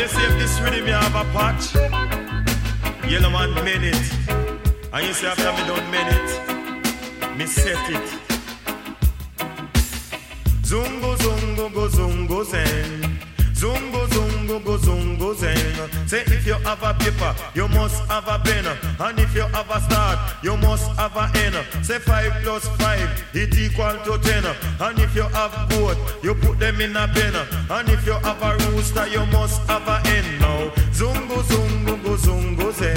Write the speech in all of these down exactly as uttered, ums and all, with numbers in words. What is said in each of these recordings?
you see if this rhythm you have a patch, Yellow Man made it. And you see after me don't made it, me set it. Zungo, zungo, go, zungo, zen. Zungo, zungo, go, zungo, zen. Say if you have a paper, you must have a pen. And if you have a start, you must have a end. Say five plus five, it equal to ten. And if you have both, you put them in a pen. And if you have a rooster, you must have a hen. Now, zungo, zungo, go, zungo, zen.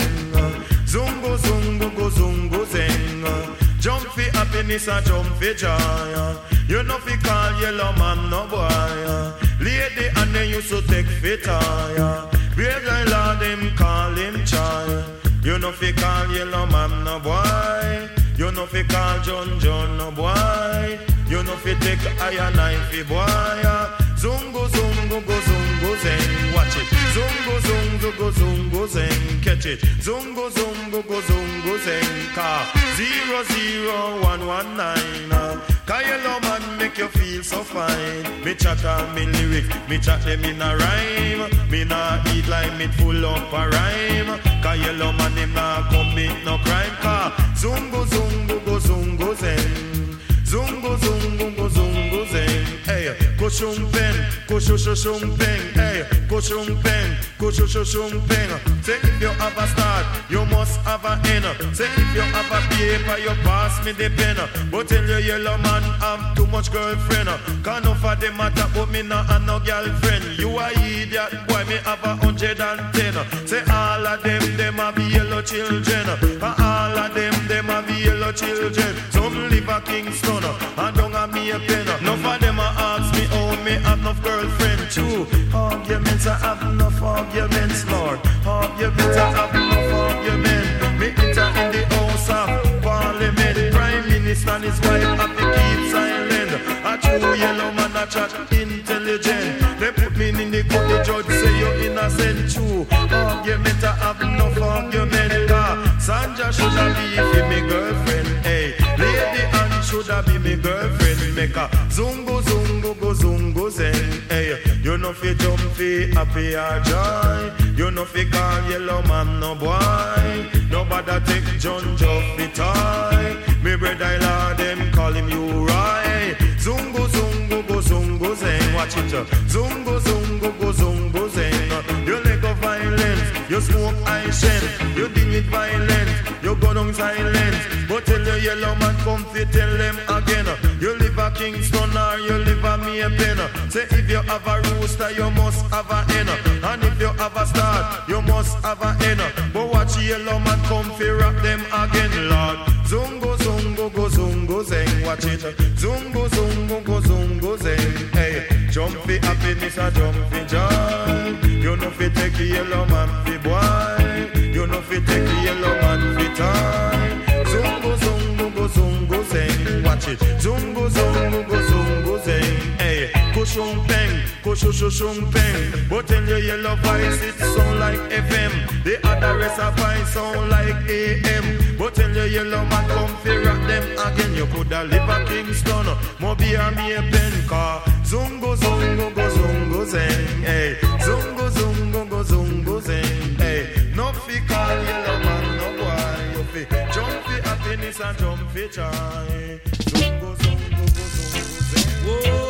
Zungo, zungo, go, zungo, zen. Jump for happiness and jump for joy. You know fi call Yellow Man no boy. Lady and they used to take fit tire. Brave like Lord them call him child. You know fi call Yellow Man no boy. You know fi call John John no boy. You know fi take iron knife fi boy. Zungo zungo go zungo zen. Watch it. Zungo zungo go zungo zen. Catch it. Zungo zungo go zungo zen. Car zero zero one one nine. Cause Yellow Man make you feel so fine. Me chat on me lyric, me chat them in a rhyme. Me nah eat like me full up a rhyme. Cause Yellow Man him nah commit no crime. Cause zungo zungo go zungo zen. Zungo zungo go zungo zen. Hey, go shum pen, go shu shu shum pen. Hey, go shum pen, go shu shu shum pen. Say if you have a start, you must have a end. Say if you have a paper, you pass me the pen. But tell you Yellow Man have too much girlfriend. Can't no for them matter, but me not have no girlfriend. You a idiot, boy, me have a hundred and ten. Say all of them, them have yellow children. And all of them, them have yellow children. Some live a Kingston, and don't have me a pen. None of them a ask me, oh, me have enough girlfriend. True, arguments, I have enough arguments, Lord. Arguments, I have enough arguments. Me enter in the house of Parliament. Prime Minister and his wife have to keep silent. A true Yellow Man, a chat intelligent. They put me in the court, the judge say you're innocent. True, argument, I have enough argument. Cause Sandra should have be for me girlfriend. Hey, Lady Anne should have be me girlfriend. Make a zungo, zungo, go zungo zen. Hey, you know fi jump fi happy or joy. You know fi call Yellow Man no boy. Nobody take John Joff fi toy. Me brother Lord them call him you right. Zungo, zungo, go zungo zen. Watch it. Zungo, zungo, go zungo zen. You let go violence. You smoke ice shen. You deal with violence. You go down silent. But tell your Yellow Man come fi tell them again. You live a Kingston or you live a Maypen. Say if you have a rooster, you must have a hen. And if you have a star, you must have a hen. But watch Yellow Man come fi rap them again, Lord. Zungo, zungo, go zungo zen. Watch it. Zungo, zungo, go zungo zen. Hey, jump fi happiness or jump fi joy. You know fi take Yellow Man fi boy. You know fi take Yellow Man fi time. Zungo, zungo, go zungo zen. Watch it. Zungo, zungo, go zungo zen. Hey, kushung peng, kushushung peng. But tell your Yellow voice it sound like F M. The other rest of voice sound like A M. But tell your Yellow Man come fi rock them again. You coulda live a Kingston, Moby or me a pen car. Zungo, zungo, go zungo zen. Hey, zungo, zungo, go zungo zen. Hey, no fi call Yellow Man no boy. You fi jump fi happiness and jump fi joy. Zungo, zungo, go zungo zen. Whoa.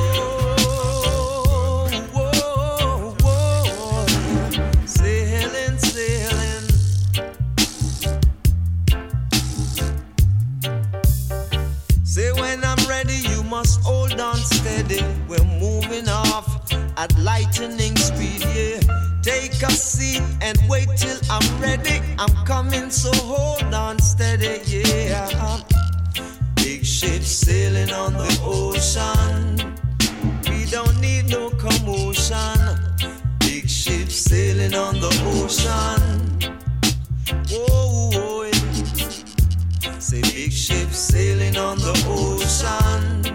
Must hold on steady, we're moving off at lightning speed, yeah. Take a seat and wait till I'm ready. I'm coming, so hold on steady, yeah. Big ship sailing on the ocean. We don't need no commotion. Big ship sailing on the ocean. Whoa, whoa, yeah. Say big ship sailing on the ocean.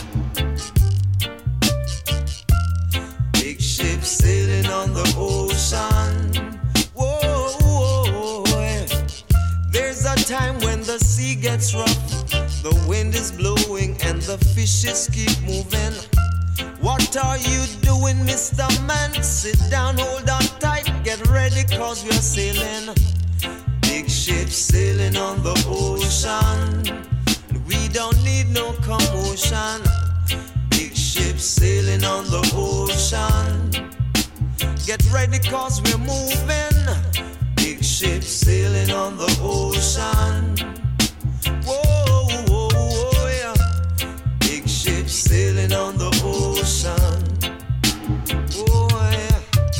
Sailing on the ocean. Whoa, whoa, whoa. There's a time when the sea gets rough, the wind is blowing and the fishes keep moving. What are you doing, Mister Man? Sit down, hold on tight, get ready, cause we're sailing. Big ship sailing on the ocean. We don't need no commotion. Big ship sailing on the ocean. Get ready, cause we're moving. Big ship sailing on the ocean. Whoa, whoa, whoa, yeah. Big ship sailing on the ocean. Oh, yeah.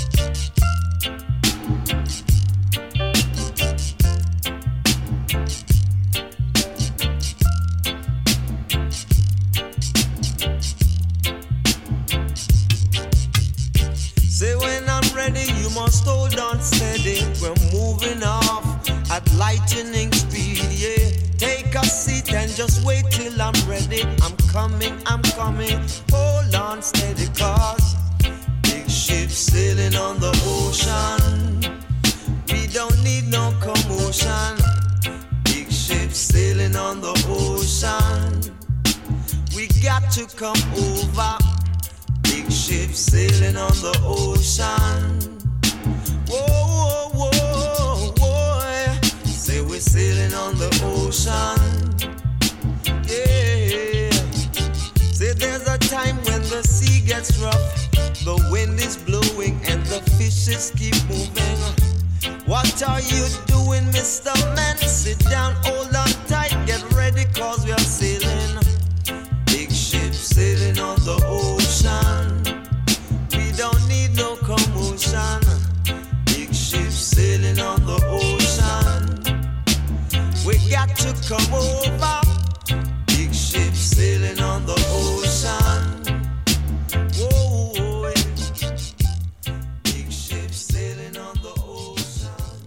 Say when I'm ready, you must hold on steady. We're moving off at lightning speed, yeah. Take a seat and just wait till I'm ready. I'm coming, I'm coming. Hold on steady, cause big ship sailing on the ocean. We don't need no commotion. Big ship sailing on the ocean. We got to come over. Big ship sailing on the ocean. Whoa, whoa, whoa, whoa. Say we're sailing on the ocean. Yeah. Say there's a time when the sea gets rough, the wind is blowing and the fishes keep moving. What are you doing, Mister Man? Sit down, hold on tight, get ready, cause we are sailing. Big ship sailing on the ocean. We don't need no commotion. Big ship sailing on the ocean. We got to come over. Big ship sailing on the ocean. Whoa, yeah. Big ship sailing on the ocean.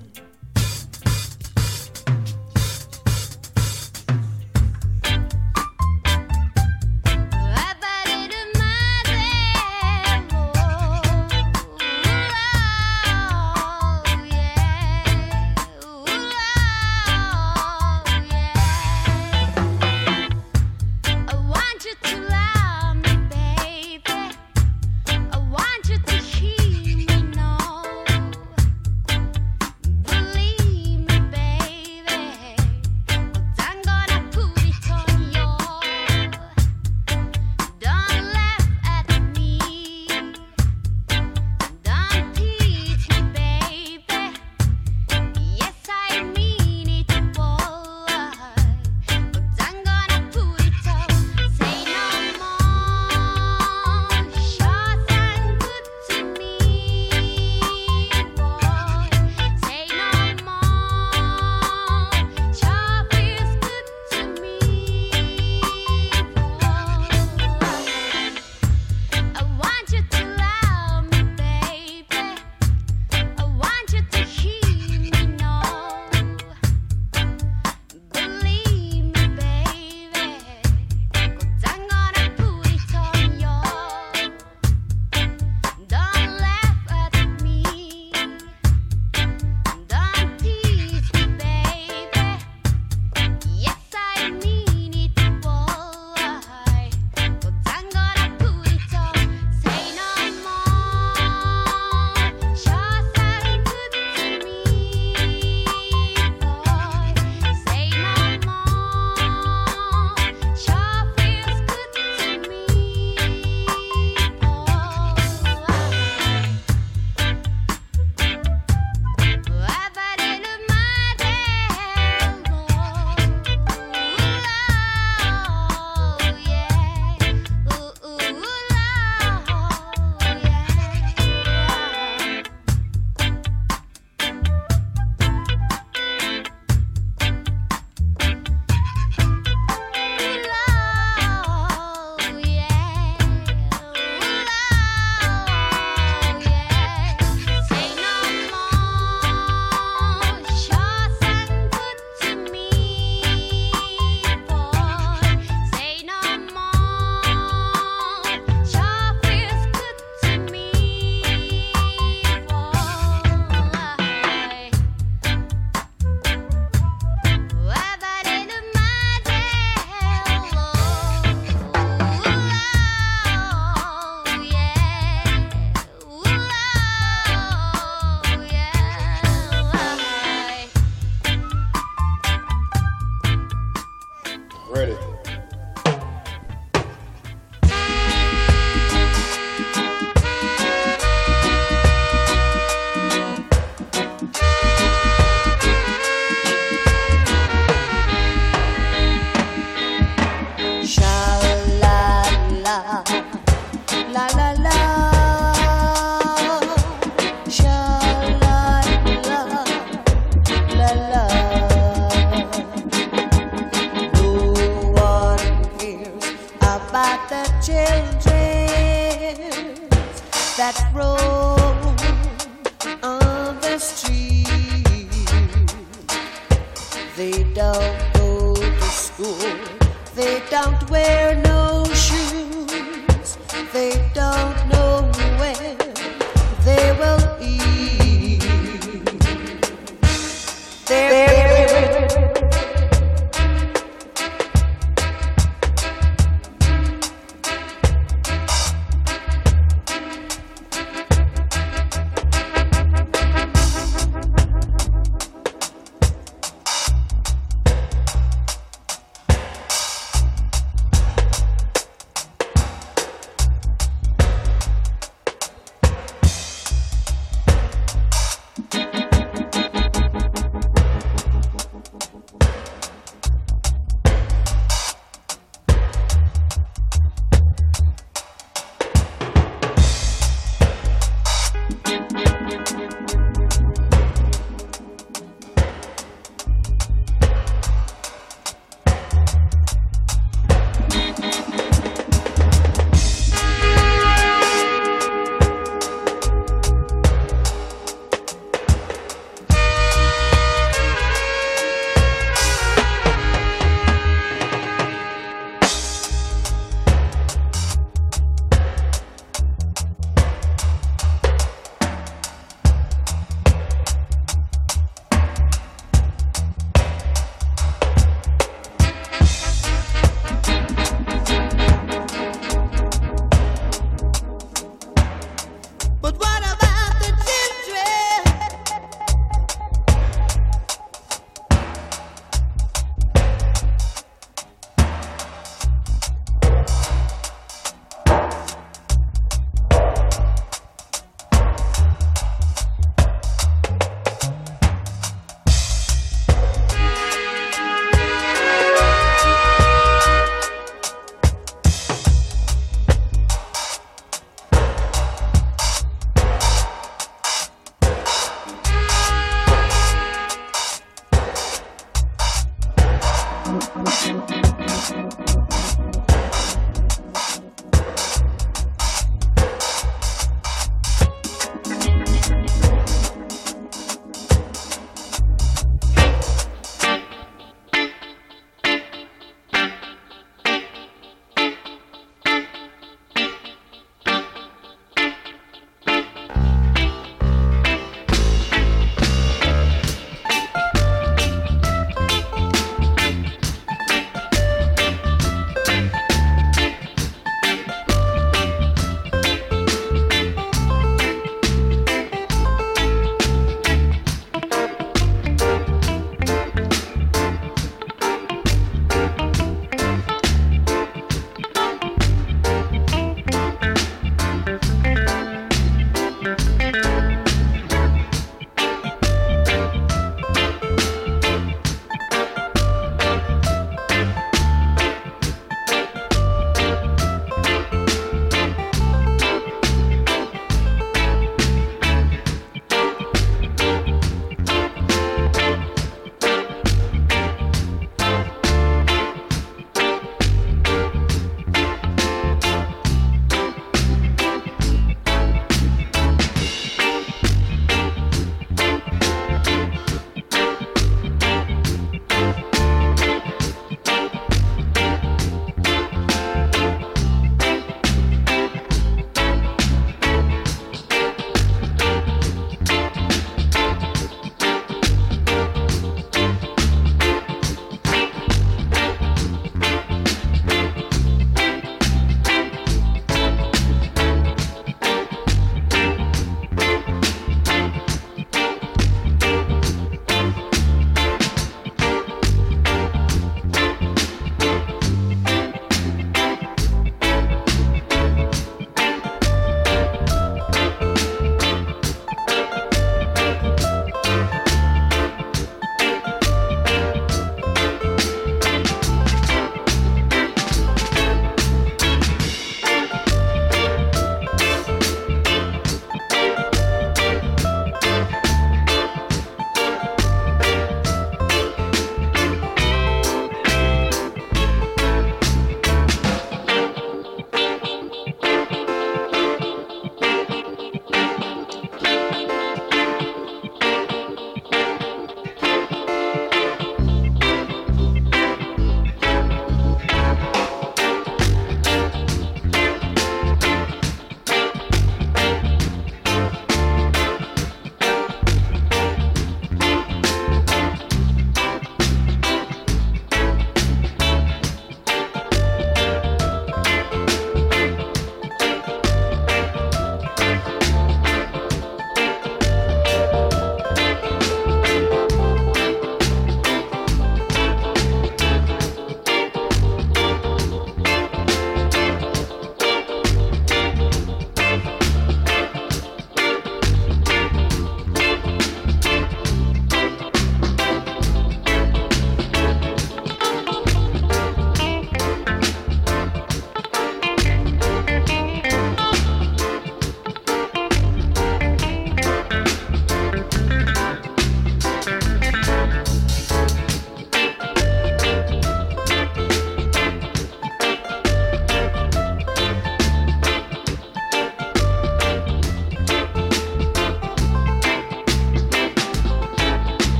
Yeah. on the street. They don't go to school. They don't wear no shoes. They don't know where they will eat. They're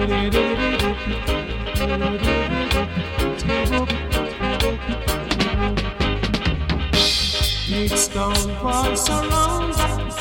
Big stone walls surround us.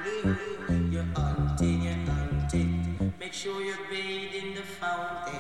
live. You're hunting, you're hunting. Make sure you bathe in the fountain.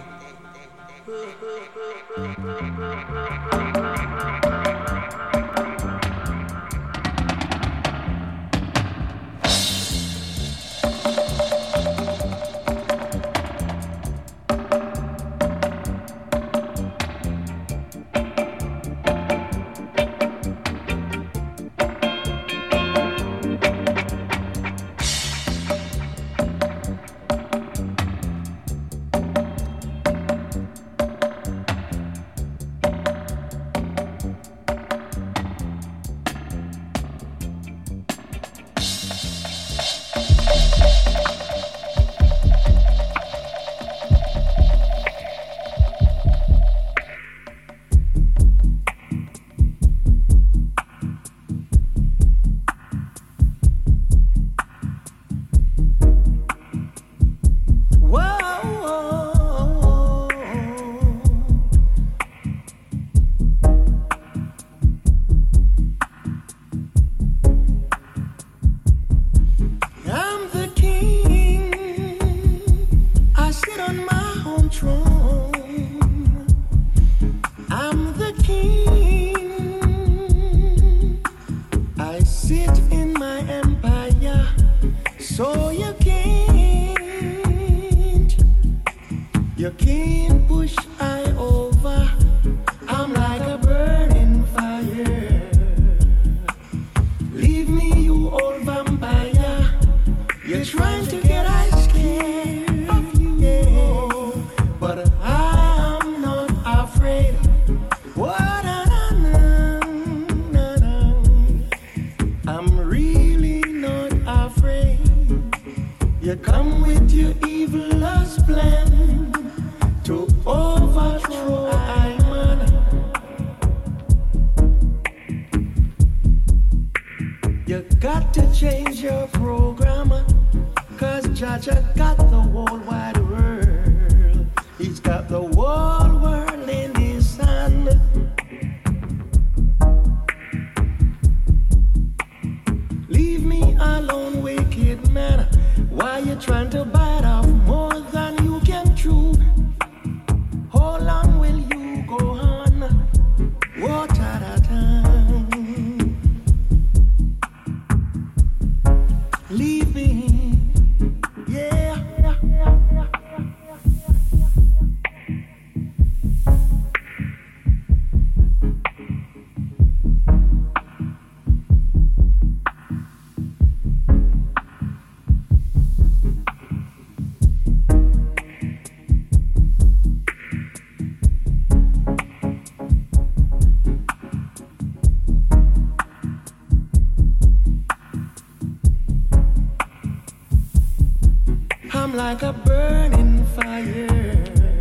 Like a burning fire.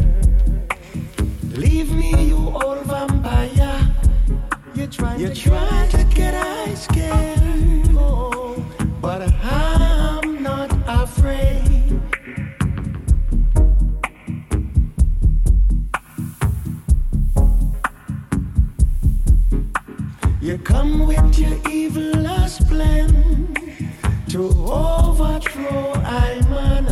Leave me, you old vampire. You're trying, You're to, trying get to get I scared. Oh, but I'm not afraid. You come with your evilest plan to overthrow I man.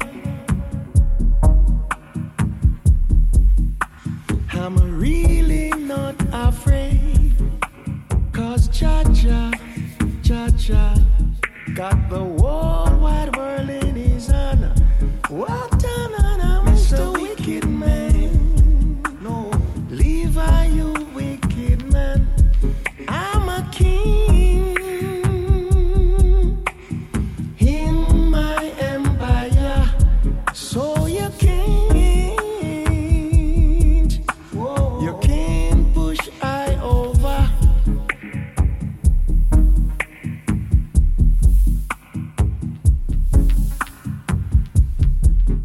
I'm really not afraid, 'cause Cha-Cha, Cha-Cha got the whole wide world in his hand. What an I'm Mister Wicked Man. No, Levi, you wicked man. I'm a king in my empire, so you can't.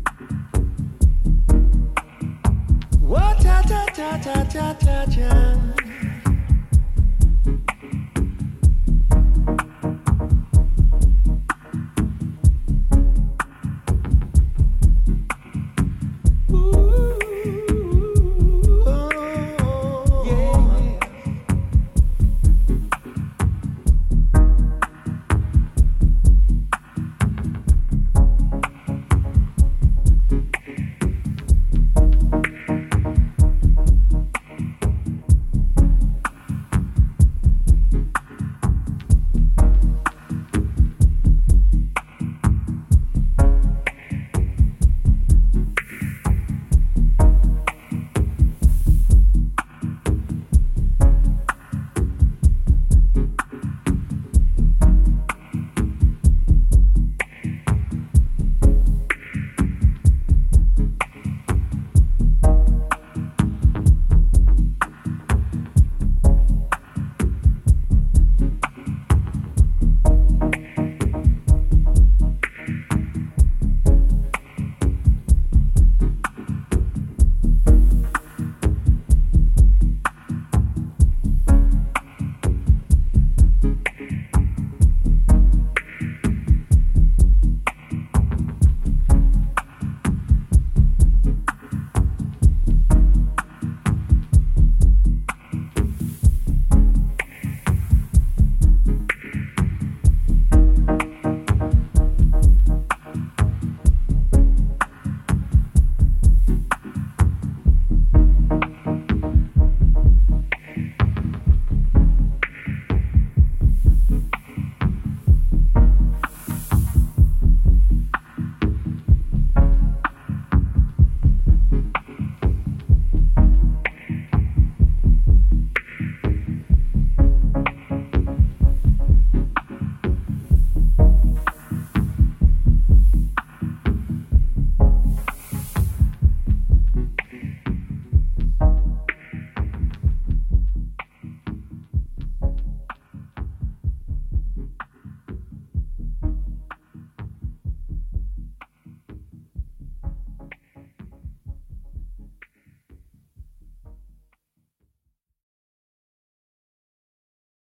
Cha cha cha cha cha.